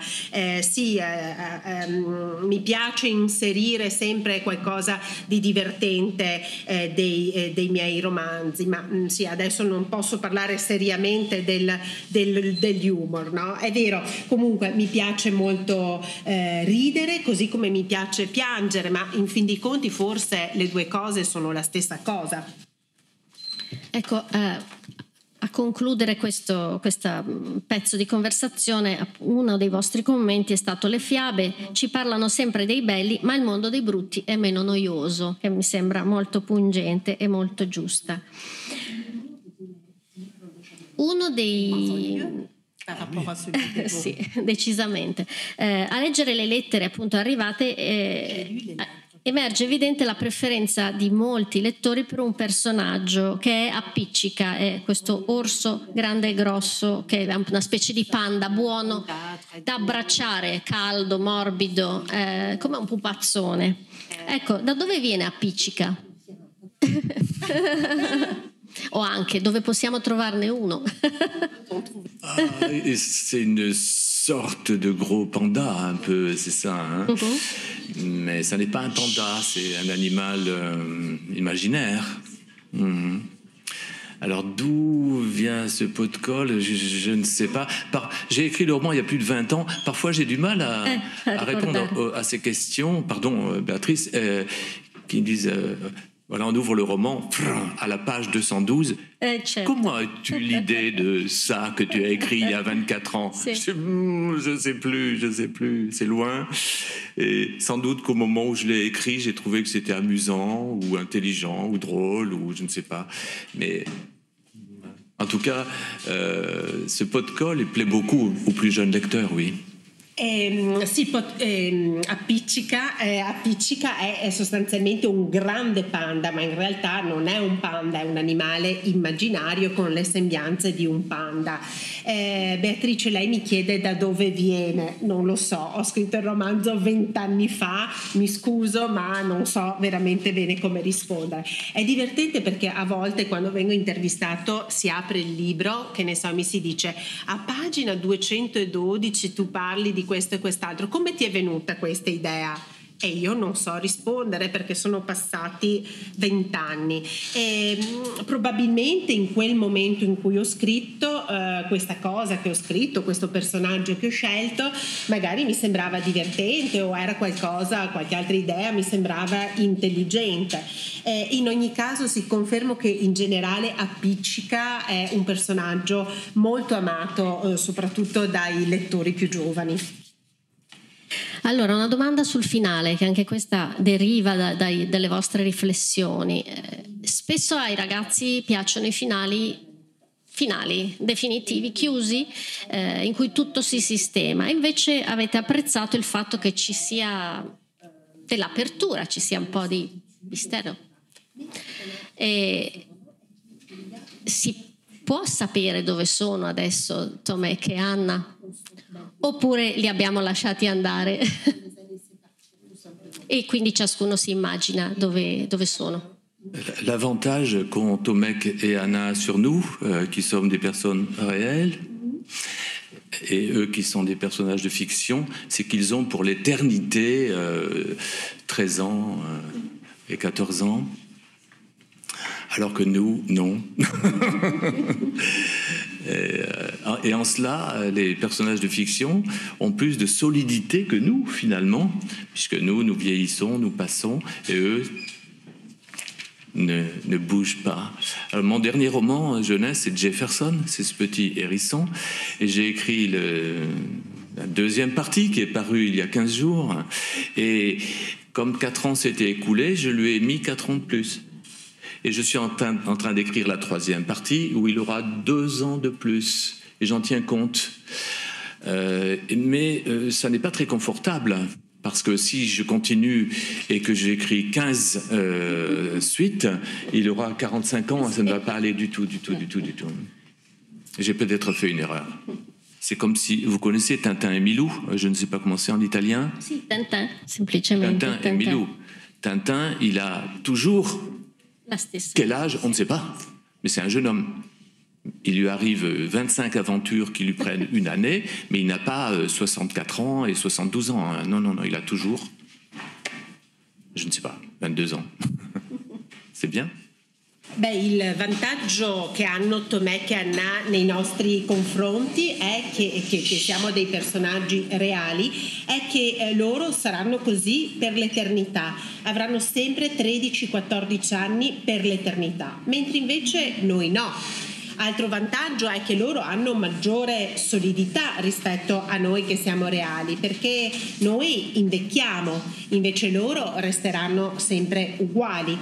Mi piace inserire sempre qualcosa di divertente dei miei romanzi, ma sì, adesso non posso parlare seriamente degli humor, no? È vero, comunque mi piace molto ridere, così come mi piace piangere, ma in fin dei conti forse le due cose sono la stessa cosa. Ecco, a concludere questo pezzo di conversazione, uno dei vostri commenti è stato: le fiabe ci parlano sempre dei belli, ma il mondo dei brutti è meno noioso, che mi sembra molto pungente e molto giusta. Uno dei... sì, decisamente. A leggere le lettere appunto arrivate emerge evidente la preferenza di molti lettori per un personaggio che è appiccica, è questo orso grande e grosso che è una specie di panda buono da abbracciare, caldo, morbido, come un pupazzone. Ecco, da dove viene appiccica? O anche dove possiamo trovarne uno? C'est une sorte de gros panda, un peu, c'est ça. Hein? Mais ça n'est pas un panda, c'est un animal imaginaire. Alors d'où vient ce pot de colle, je ne sais pas. J'ai écrit le roman il y a plus de 20 ans. Parfois j'ai du mal à répondre à ces questions. Pardon, Béatrice, qui disent... Voilà, on ouvre le roman à la page 212. Comment as-tu l'idée de ça que tu as écrit il y a 24 ans? Je sais plus, c'est loin. Et sans doute qu'au moment où je l'ai écrit, j'ai trouvé que c'était amusant ou intelligent ou drôle ou je ne sais pas. Mais en tout cas, ce pot de colle, il plaît beaucoup aux plus jeunes lecteurs, oui. Sì, appiccica è sostanzialmente un grande panda, ma in realtà non è un panda, è un animale immaginario con le sembianze di un panda. Beatrice, lei mi chiede da dove viene, non lo so, ho scritto il romanzo 20 anni fa, mi scuso ma non so veramente bene come rispondere. È divertente perché a volte quando vengo intervistato si apre il libro, che ne so, mi si dice a pagina 212 tu parli di questo e quest'altro, come ti è venuta questa idea? E io non so rispondere perché sono passati 20 anni e probabilmente in quel momento in cui ho scritto questa cosa che ho scritto, questo personaggio che ho scelto, magari mi sembrava divertente o era qualche altra idea mi sembrava intelligente. In ogni caso si conferma che in generale Appiccica è un personaggio molto amato soprattutto dai lettori più giovani. Allora, una domanda sul finale, che anche questa deriva dalle vostre riflessioni. Spesso ai ragazzi piacciono i finali definitivi, chiusi, in cui tutto si sistema. Invece avete apprezzato il fatto che ci sia dell'apertura, ci sia un po' di mistero. E si può sapere dove sono adesso Tomek e Anna? Oppure li abbiamo lasciati andare e quindi ciascuno si immagina dove sono? L'avantage qu'ont Tomek et Anna sur nous, qui sommes des personnes réelles, et eux qui sont des personnages de fiction, c'est qu'ils ont pour l'éternité 13 ans et 14 ans, alors que nous, non. Et en cela, les personnages de fiction ont plus de solidité que nous, finalement, puisque nous vieillissons, nous passons, et eux ne bougent pas. Alors, mon dernier roman jeunesse, c'est Jefferson, c'est ce petit hérisson, et j'ai écrit la deuxième partie qui est parue il y a 15 jours, et comme 4 ans s'étaient écoulés, je lui ai mis 4 ans de plus. Et je suis en train d'écrire la troisième partie où il aura 2 ans de plus. Et j'en tiens compte. Mais ça n'est pas très confortable. Parce que si je continue et que j'écris 15 suites, il aura 45 ans. Ça ne va pas aller du tout. J'ai peut-être fait une erreur. C'est comme si... Vous connaissez Tintin et Milou? Je ne sais pas comment c'est en italien. Si, Tintin, semplicemente. Tintin et Milou. Tintin, il a toujours... Quel âge? On ne sait pas. Mais c'est un jeune homme. Il lui arrive 25 aventures qui lui prennent une année, mais il n'a pas 64 ans et 72 ans. Non, il a toujours, je ne sais pas, 22 ans. C'est bien. Beh, il vantaggio che hanno Tomek e Anna nei nostri confronti è che siamo dei personaggi reali, è che loro saranno così per l'eternità, avranno sempre 13-14 anni per l'eternità, mentre invece noi no. Altro vantaggio è che loro hanno maggiore solidità rispetto a noi che siamo reali, perché noi invecchiamo, invece loro resteranno sempre uguali.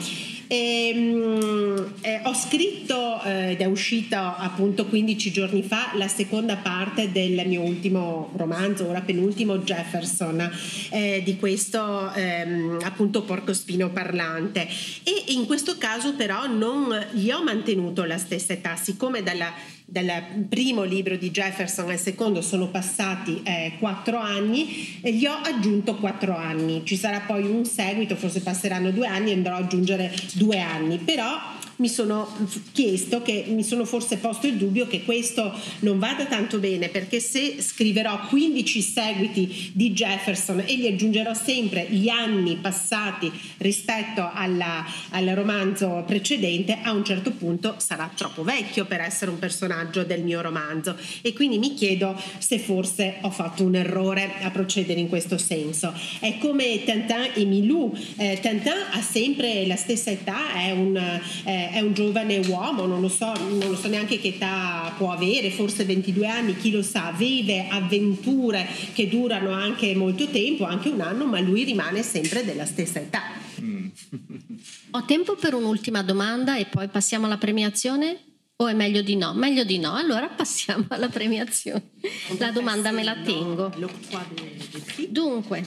Ho scritto ed è uscito appunto 15 giorni fa la seconda parte del mio ultimo romanzo, ora penultimo, Jefferson, di questo appunto porcospino parlante, e in questo caso però non gli ho mantenuto la stessa età, siccome dal primo libro di Jefferson al secondo sono passati 4 anni, e gli ho aggiunto 4 anni. Ci sarà poi un seguito, forse passeranno 2 anni e andrò ad aggiungere 2 anni, però mi sono chiesto, che mi sono forse posto il dubbio che questo non vada tanto bene, perché se scriverò 15 seguiti di Jefferson e gli aggiungerò sempre gli anni passati rispetto al romanzo precedente, a un certo punto sarà troppo vecchio per essere un personaggio del mio romanzo, e quindi mi chiedo se forse ho fatto un errore a procedere in questo senso. È come Tintin e Milou. Tintin ha sempre la stessa età, è un giovane uomo, non lo so neanche che età può avere, forse 22 anni, chi lo sa, vive avventure che durano anche molto tempo, anche un anno, ma lui rimane sempre della stessa età. Ho tempo per un'ultima domanda e poi passiamo alla premiazione? O è meglio di no? Meglio di no, allora passiamo alla premiazione. La domanda me la tengo. Dunque,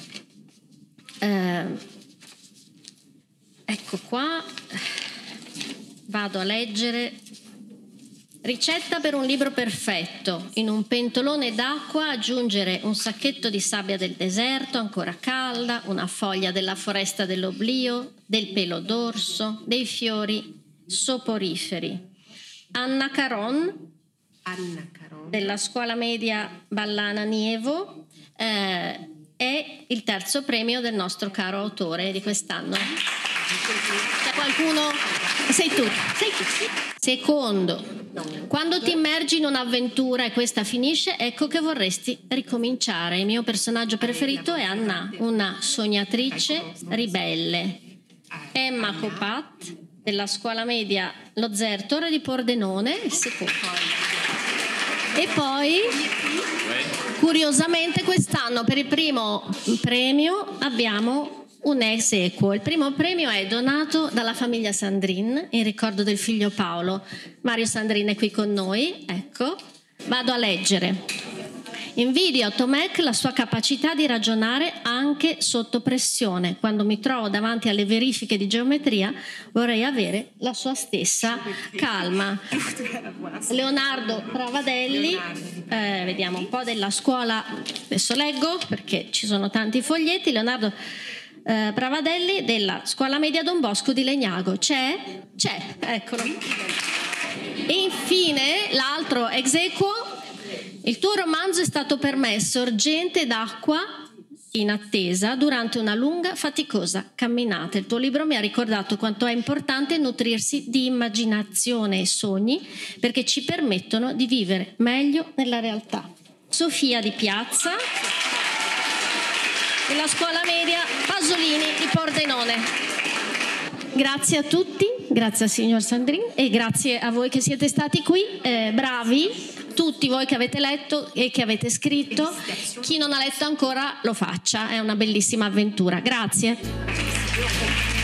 ecco qua. Vado a leggere. Ricetta per un libro perfetto: in un pentolone d'acqua aggiungere un sacchetto di sabbia del deserto ancora calda, una foglia della foresta dell'oblio, del pelo d'orso, dei fiori soporiferi. Anna Caron della scuola media Ballana Nievo è il terzo premio del nostro caro autore di quest'anno. C'è qualcuno? Sei tu. Secondo, quando ti immergi in un'avventura e questa finisce, ecco che vorresti ricominciare. Il mio personaggio preferito è Anna, una sognatrice ribelle. Emma Copat della scuola media Lo Zertore di Pordenone, il secondo. E poi, curiosamente, quest'anno per il primo premio abbiamo un ex equo. Il primo premio è donato dalla famiglia Sandrin in ricordo del figlio Paolo. Mario Sandrin è qui con noi, ecco. Vado a leggere. Invidio a Tomek la sua capacità di ragionare anche sotto pressione. Quando mi trovo davanti alle verifiche di geometria vorrei avere la sua stessa calma. Leonardo Pravadelli, vediamo un po' della scuola, adesso leggo perché ci sono tanti foglietti. Leonardo Pravadelli della scuola media Don Bosco di Legnago. C'è, eccolo. E infine l'altro ex equo: il tuo romanzo è stato per me sorgente d'acqua in attesa durante una lunga, faticosa camminata. Il tuo libro mi ha ricordato quanto è importante nutrirsi di immaginazione e sogni, perché ci permettono di vivere meglio nella realtà. Sofia Di Piazza, della scuola media Pasolini di Pordenone. Grazie a tutti, grazie al signor Sandrin e grazie a voi che siete stati qui, bravi. Tutti voi che avete letto e che avete scritto, chi non ha letto ancora lo faccia, è una bellissima avventura. Grazie.